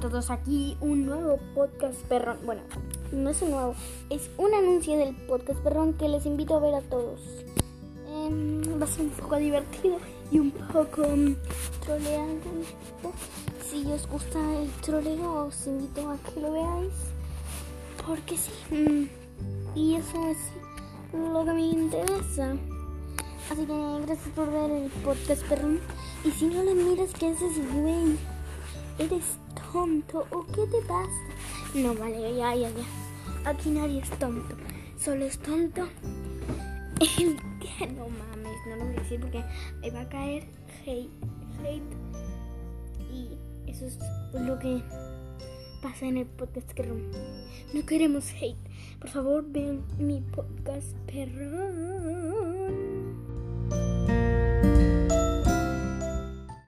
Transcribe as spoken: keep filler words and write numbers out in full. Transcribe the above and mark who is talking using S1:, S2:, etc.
S1: todos, aquí un nuevo podcast perrón. Bueno, no es un nuevo, es un anuncio del podcast perrón que les invito a ver a todos. Eh, va a ser un poco divertido y un poco um, troleante. Si os gusta el troleo, os invito a que lo veáis, porque sí. Mm, y eso es lo que me interesa. Así que gracias por ver el podcast perrón. Y si no lo miras, ¿qué haces, güey? ¿Eres tonto o qué te pasa? No, vale, ya, ya, ya. Aquí nadie es tonto. Solo es tonto el que... No mames, no lo voy a decir porque me va a caer hate. Hate. Y eso es lo que pasa en el podcast perrón. No queremos hate. Por favor, vean mi podcast perrón.